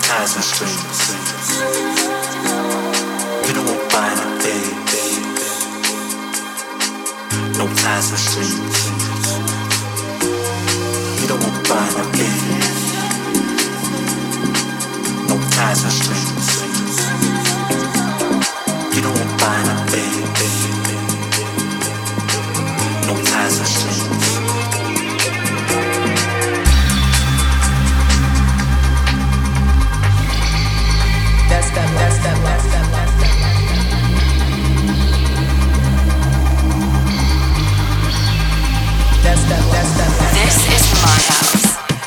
ties and strings. You don't want buying a baby. No ties and strings. You don't want buying a baby. No ties and strings. You don't want buying a baby. No ties and strings. This is my house.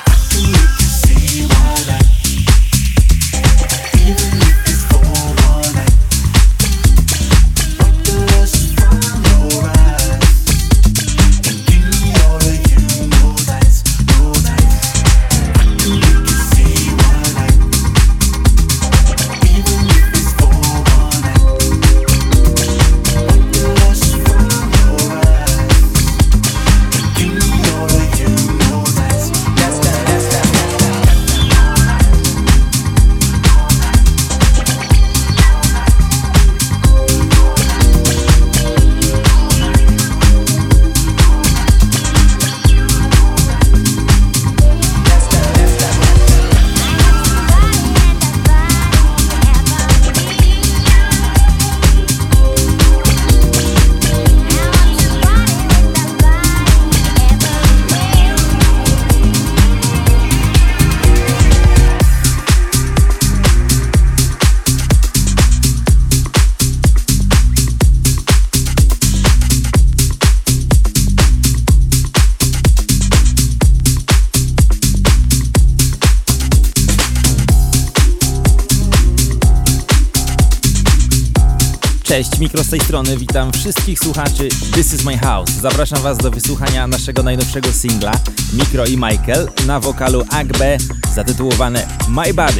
Cześć, Mikro z tej strony, witam wszystkich słuchaczy This is my house. Zapraszam Was do wysłuchania naszego najnowszego singla Mikro i Michael na wokalu Agbe zatytułowane My Body.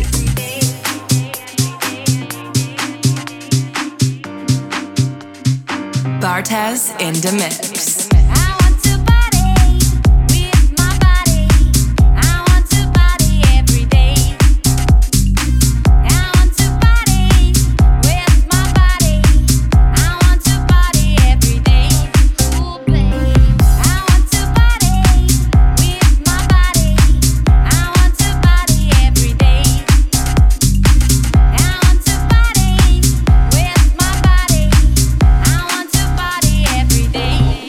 Bartez in the mix. Day.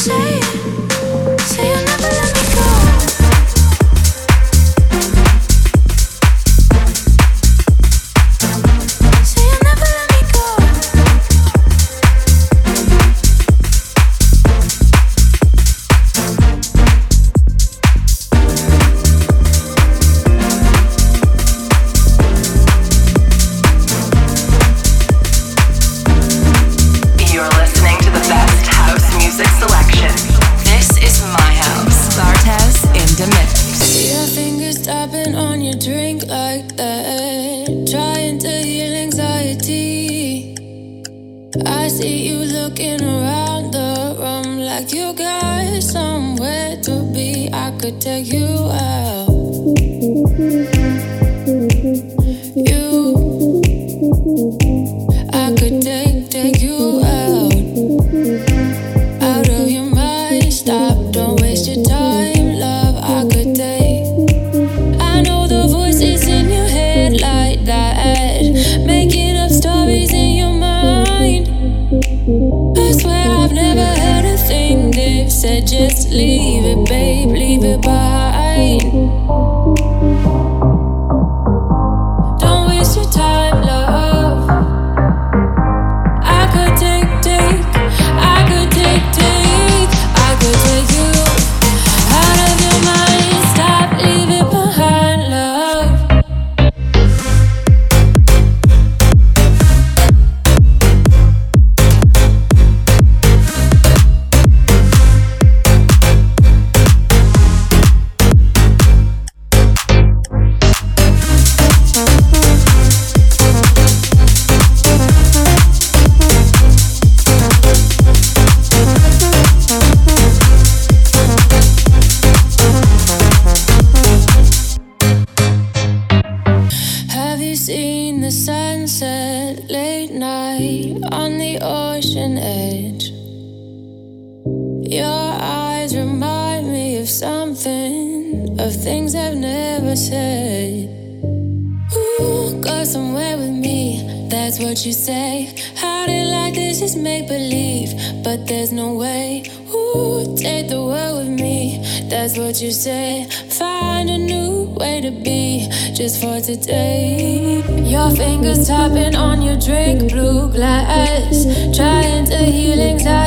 Today, your fingers tapping on your drink, blue glass, trying to heal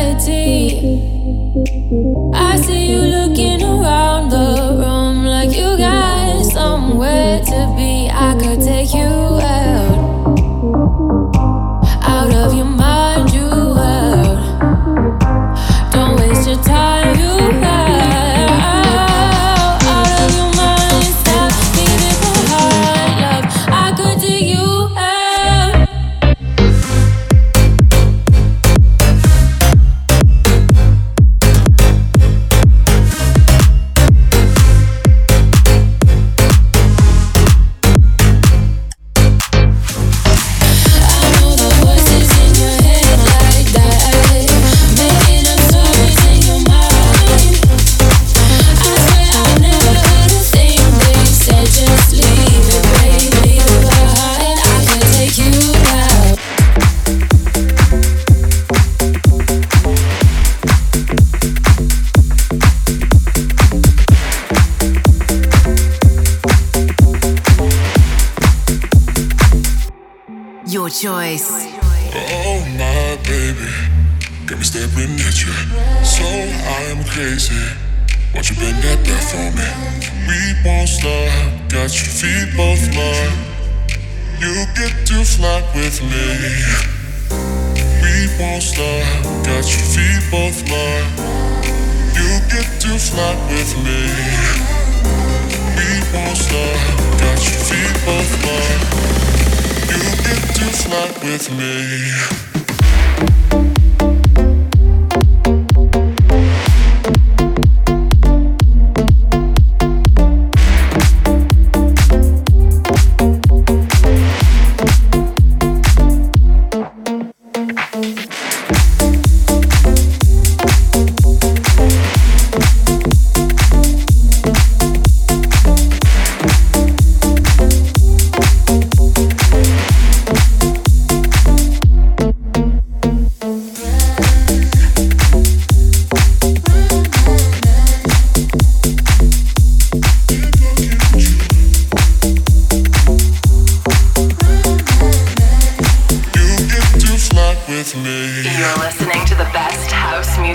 anxiety. I see you looking around the room like you got somewhere to be. I could take you out of your mind, you out. Don't waste your time, you out. Choice. Oh my baby, got me staring at you. So I'm crazy. Won't you bend that back for me? We won't stop. Got your feet both locked. You get to fly with me. We won't stop. Got your feet both locked. You get to fly with me. We won't stop. Got your feet both locked. You get to fly with me.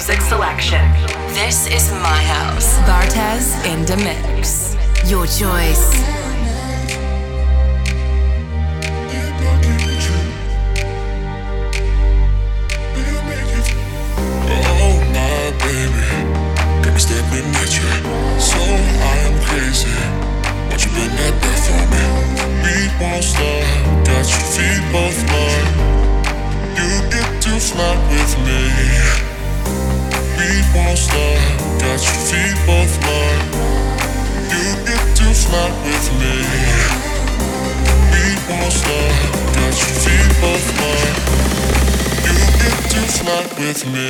music selection. This is my house. Bartez in the mix. Your choice. Oh my baby, got me staring at you. So I am crazy. Won't you bend that back for me? We won't stop. Got your feet both mine. You get to fly with me. We won't stop. Got your feet both mine. You get to fly with me. We won't stop. Got your feet both mine. You get to fly with me.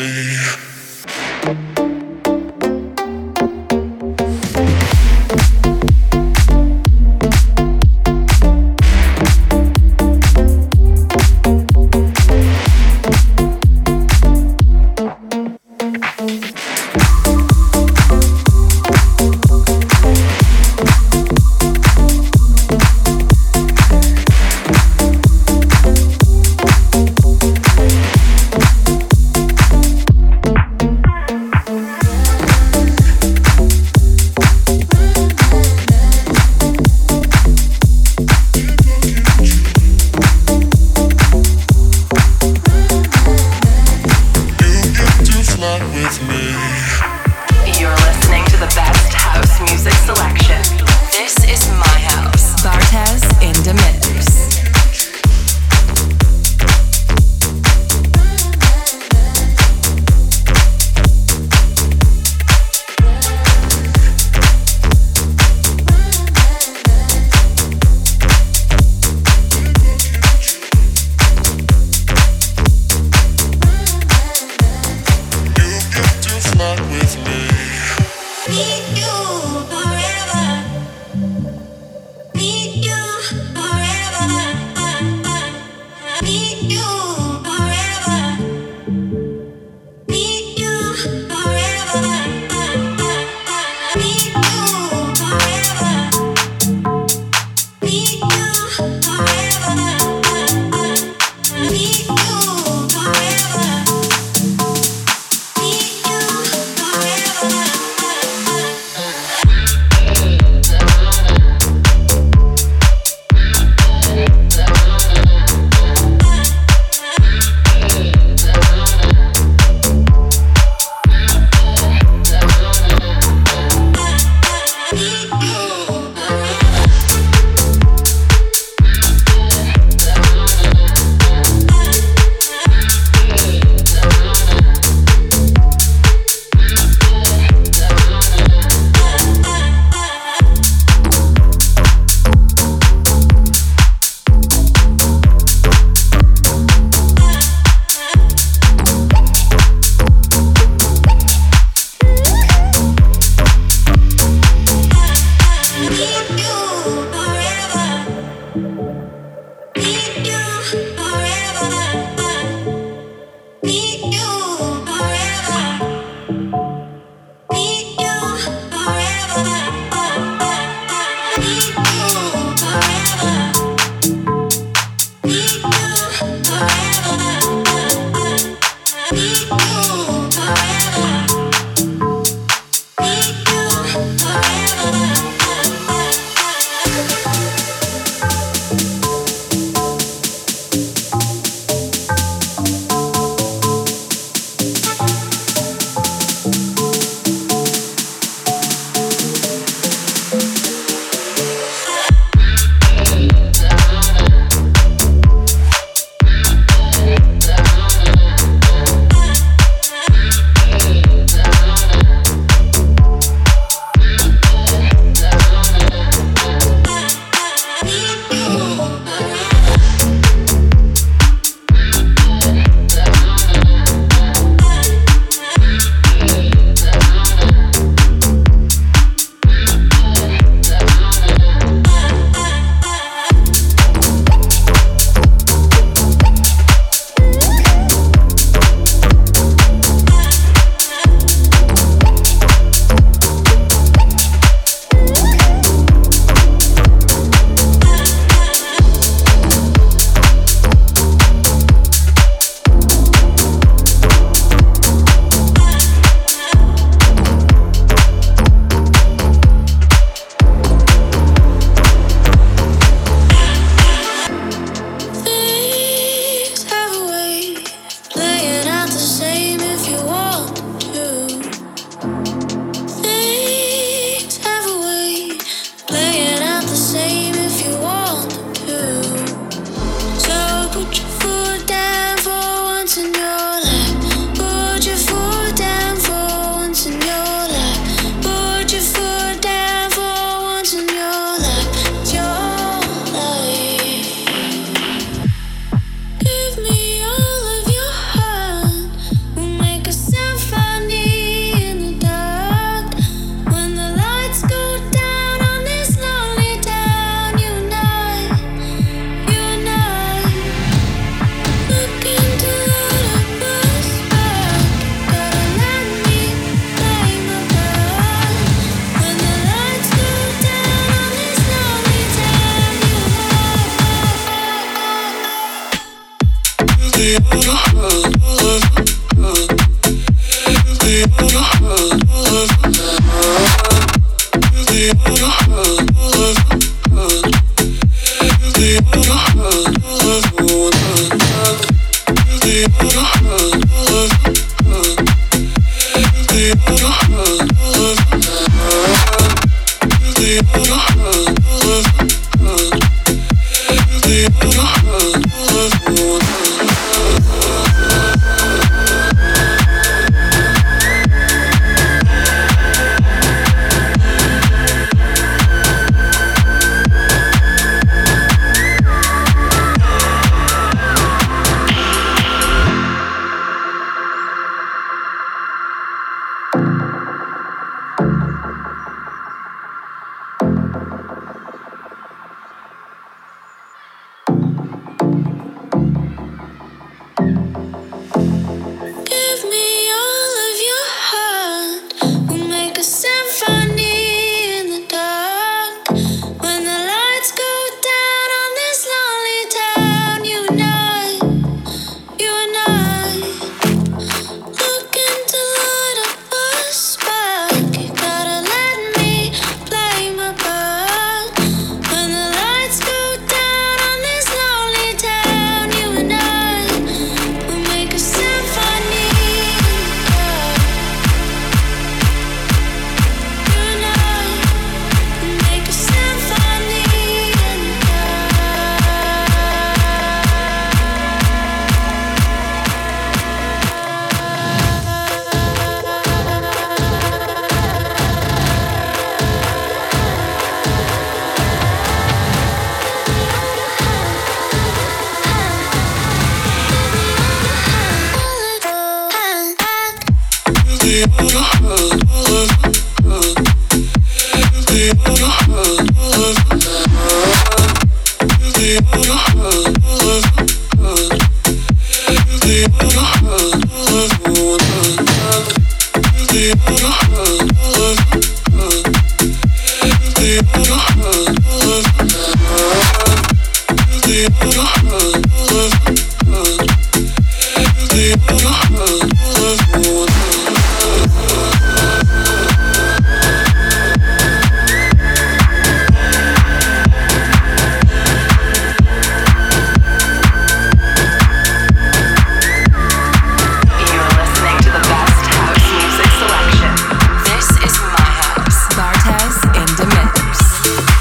This is my house. Bartez in the mix.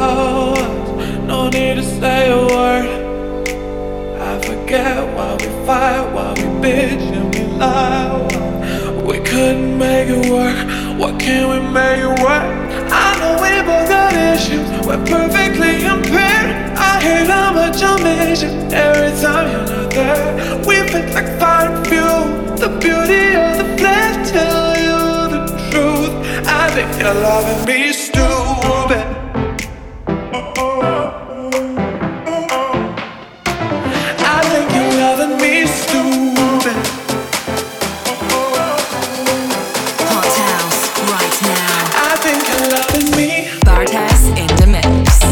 hours, no need to say a word. I forget why we fight, why we bitch and we lie. We couldn't make it work, what can we make it work? I know we both got issues, we're perfectly impaired. I hate how much I miss you every time you're not there. We fit like fire and fuel, the beauty of the flesh. Tell you the truth, I think you're loving me stupid. I think you're loving me stupid. Hot house right now. I think you're loving me. Bartez in the mix.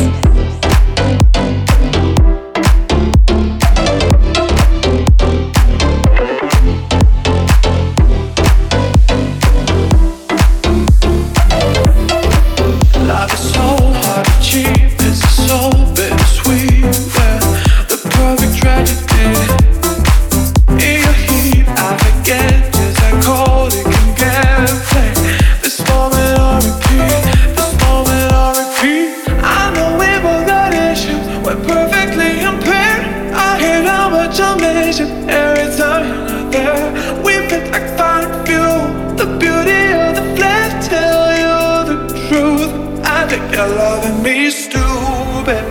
Love is so hard to achieve, this is so bittersweet. Yeah, the perfect tragedy. In your heat, I forget just how cold it can get. Play this moment on repeat, this moment on repeat. I know we both got issues, we're perfectly impaired. I hate how much I miss you every time you're not there. We fit like fire and fuel, the beauty of the flesh. Tell you the truth, I think you're loving me stupid.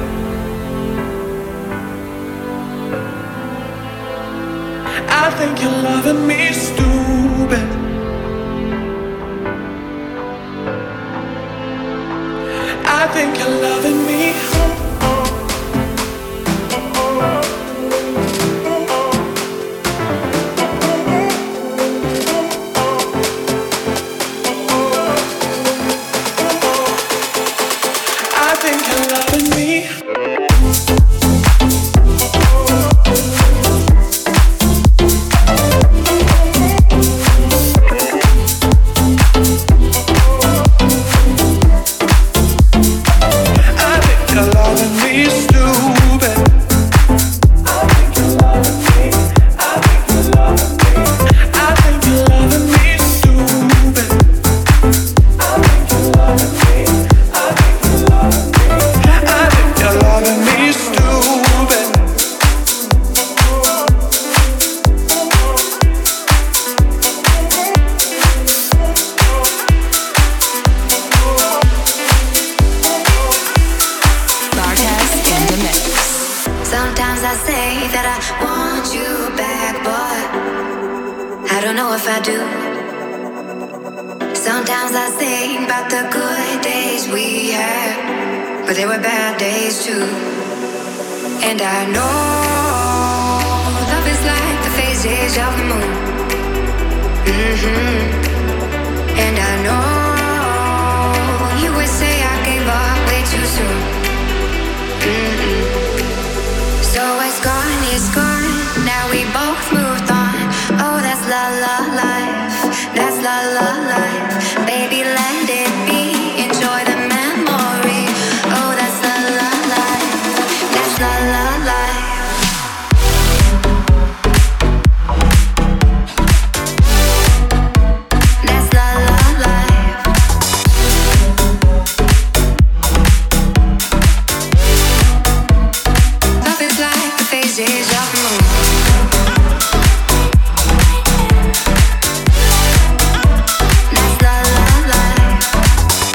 I think you're loving me stupid. I think you're loving me. I think you're loving me. I think you're loving me stupid. I think you're loving me. I think you're loving me. I think you're loving me stupid. I think you're loving me. I think you're loving me. I think you're loving me stupid. Bartez in the mix. Sometimes I say that I want you back, but I don't know if I do. Sometimes I think about the good days we had, but there were bad days too. And I know love is like the phases of the moon. And I know you would say I gave up way too soon. So it's gone, now we both moved on. Oh, that's la la life, that's la la life. Baby, let it be, enjoy the memory. Oh, that's la la life, that's la la life. That's la la life. Love is like the phases of the moon. That's la la life.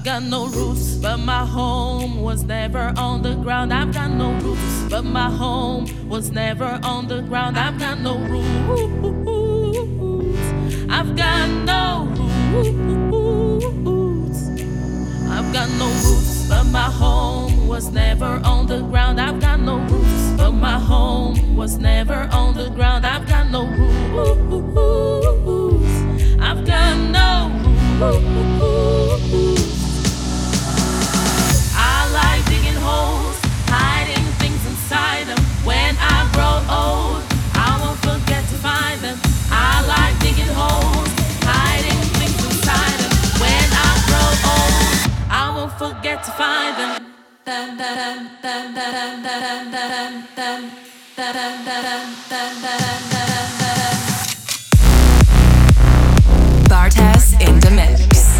I've got no roots, but my home was never on the ground. I've got no roots, but my home was never on the ground. I've got no roots. I've got no roots. I've got no roots, but my home was never on the ground. I've got no roots, but my home was never on the ground. I've got no roots. I've got no roots. I like digging holes, hiding things inside them. When I grow old, I won't forget to find them. I like digging holes, hiding things inside them. When I grow old, I won't forget to find them. Bartez in the mix.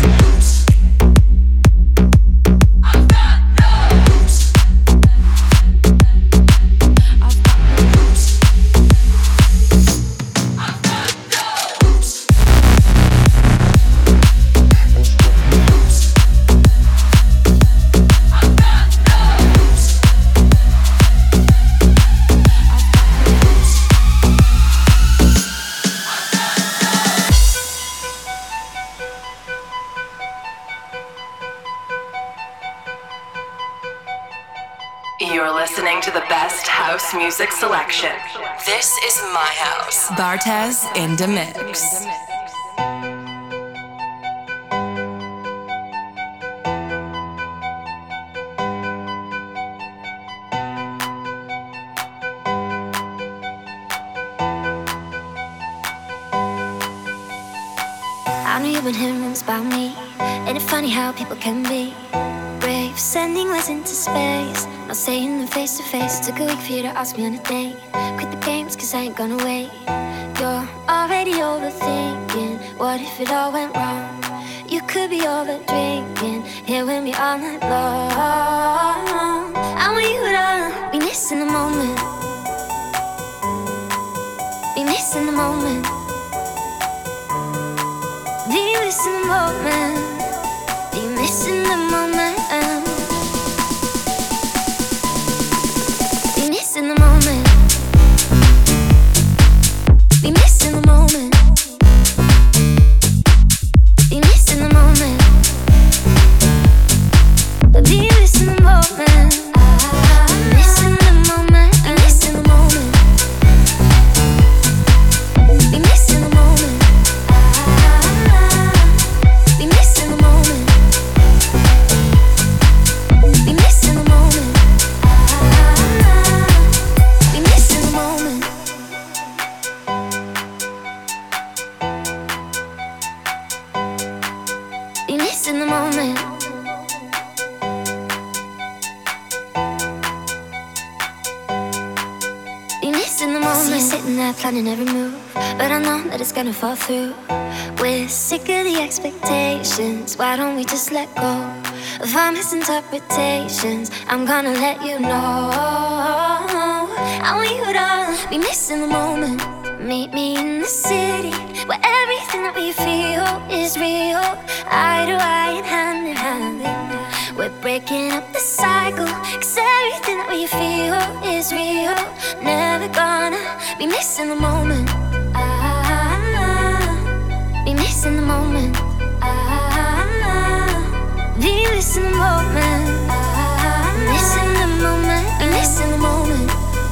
You're listening to the best house music selection. This is my house. Bartez in the mix. I know you've been hearing rumors about me. Ain't it funny how people can be brave, sending letters into space, not saying them face to face. Took a week for you to ask me on a date. Quit the games cause I ain't gonna wait. You're already overthinking, what if it all went wrong? You could be over drinking, here with me all night long. I want you to be missing the moment, be missing the moment, be missing the moment, be missing the moment, be missing the moment, be missing the moment, be missing the moment, be missing the moment, missing the moment, missing the moment, be missing the moment, be missing the moment, be missing the moment, be missing the moment. Be missing the moment. Be missing the moment. See you sitting there planning every move, but I know that it's gonna fall through. We're sick of the expectations. Why don't we just let go of our misinterpretations? I'm gonna let you know. I want you to be missing the moment. Meet me in the city where everything that we feel is real. Eye to eye and hand in hand. We're breaking up the cycle, cause everything that we feel is real. Never gonna be missing the moment. Be missing the moment. Be missing the moment. Missing the moment. Be missing the moment.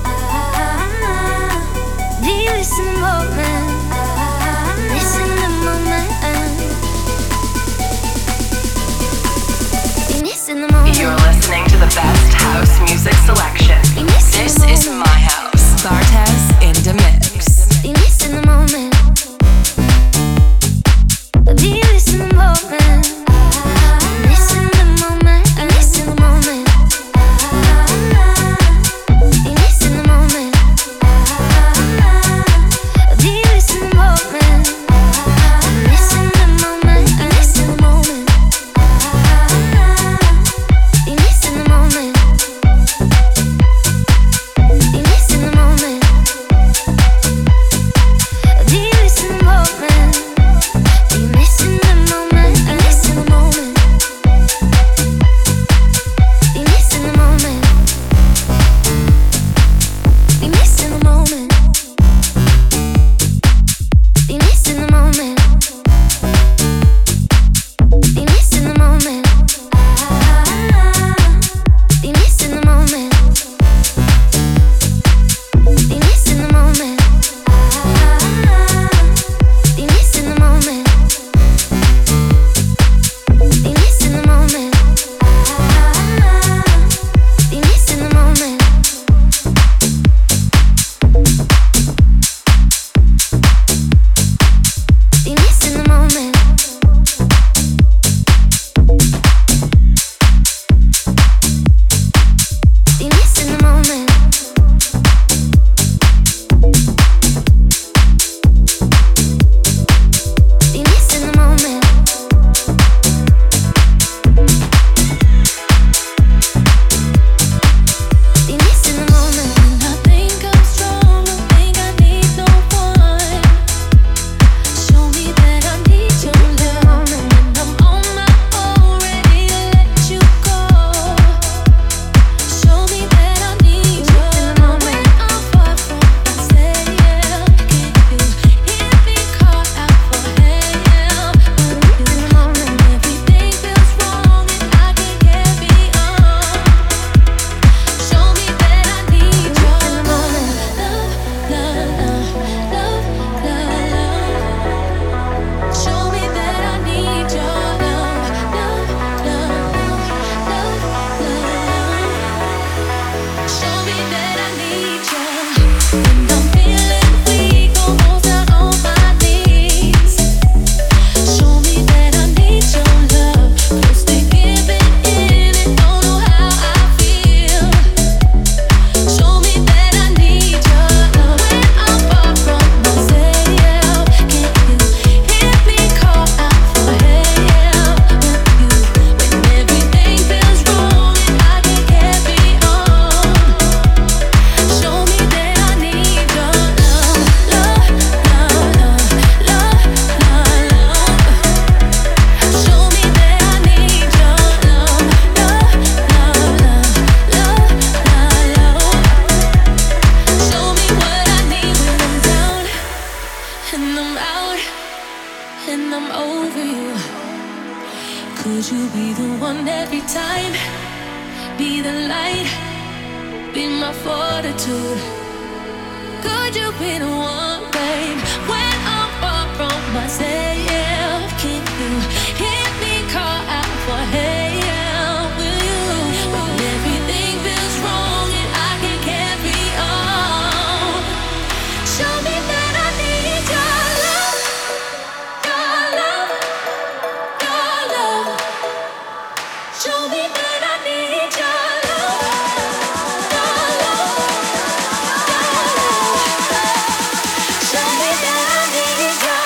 Be missing the moment. Missing the moment. Be missing the moment. You're listening to the best house music selection. This is my house. Bartez in the mix. Be missing the moment. Be missing the moment. Missing the moment. Be missing the moment. Be missing the moment. Be missing the moment. Missing the moment. Be missing the moment. Be missing the moment. Be missing the moment. I'm out and I'm over you. Could you be the one every time? Be the light, be my fortitude. Could you be the one, babe? When I'm far from myself, can you hear me call out for help? Will you? When everything feels wrong and I can't carry on, show me that I need your love, your love, your love. Show me that I need your love, your love, your love. Show me that I need your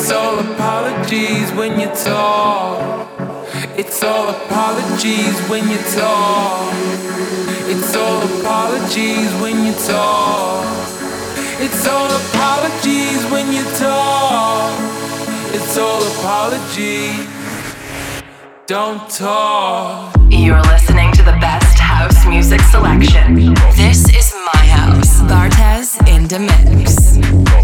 It's all apologies when you talk. It's all apologies when you talk. It's all apologies when you talk. It's all apologies when you talk. It's all apologies. Don't talk. You're listening to the best house music selection. This is my house. Bartez in the mix.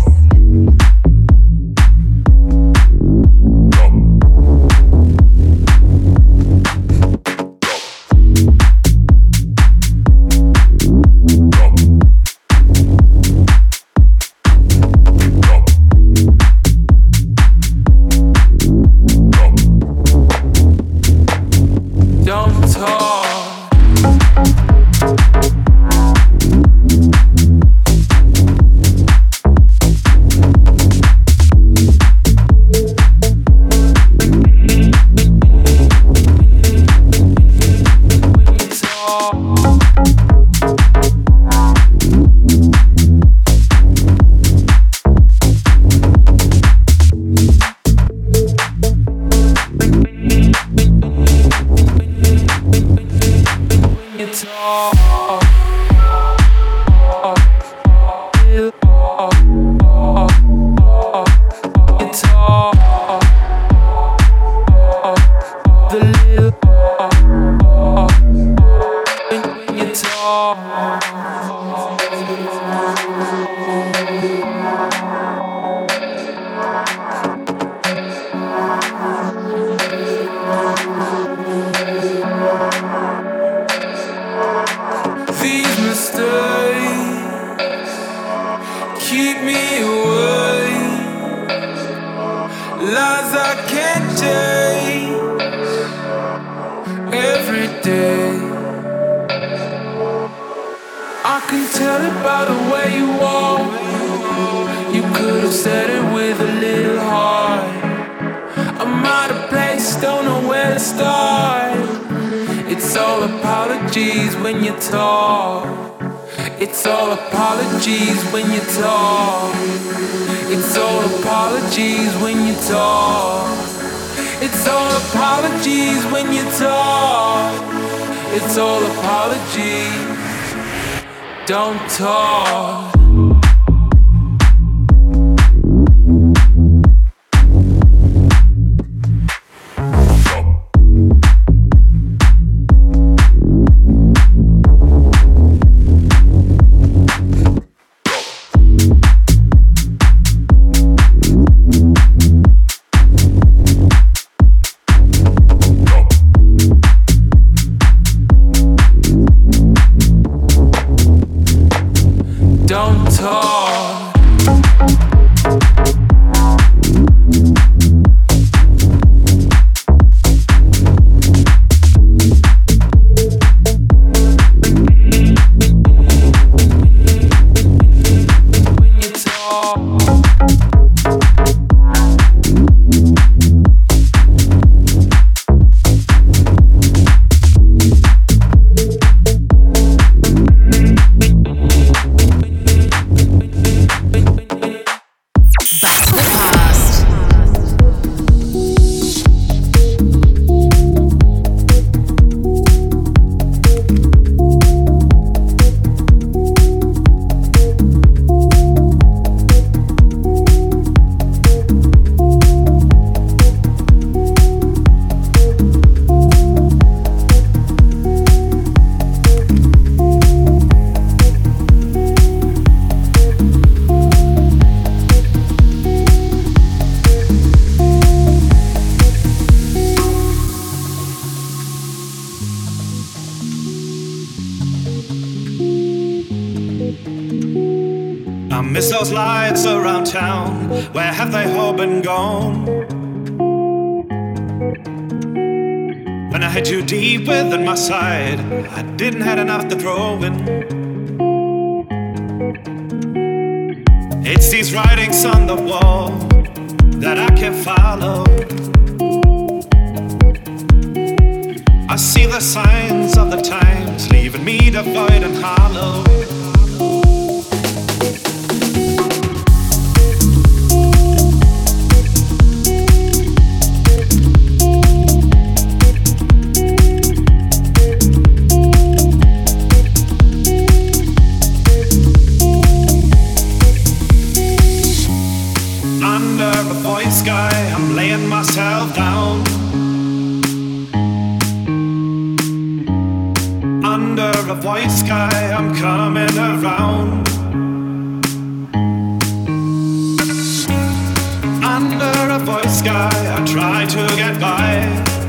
Don't talk. Miss those lights around town, where have they all been gone? When I had you deep within my side, I didn't have enough to throw in. It's these writings on the wall that I can't follow. I see the signs of the times, leaving me devoid and hollow. Under a void sky, I'm laying myself down. Under a void sky, I'm coming around. Under a void sky, I try to get by.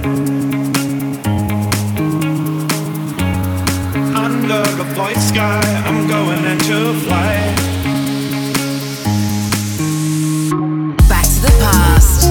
Under a void sky, I'm going into flight. Back to the past.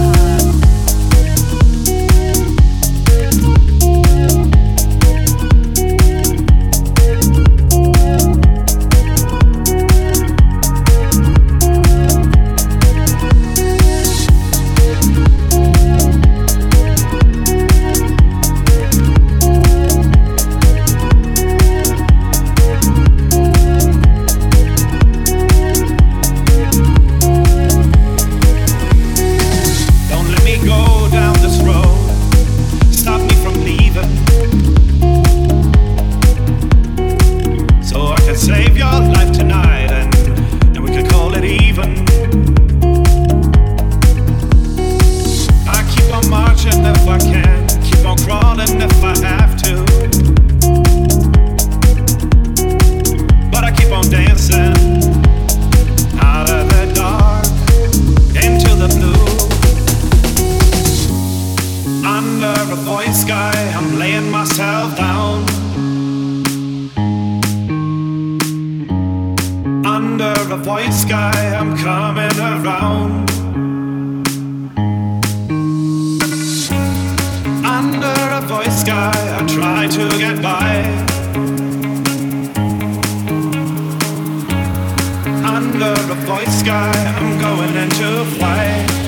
Under a void sky, I'm going into flight.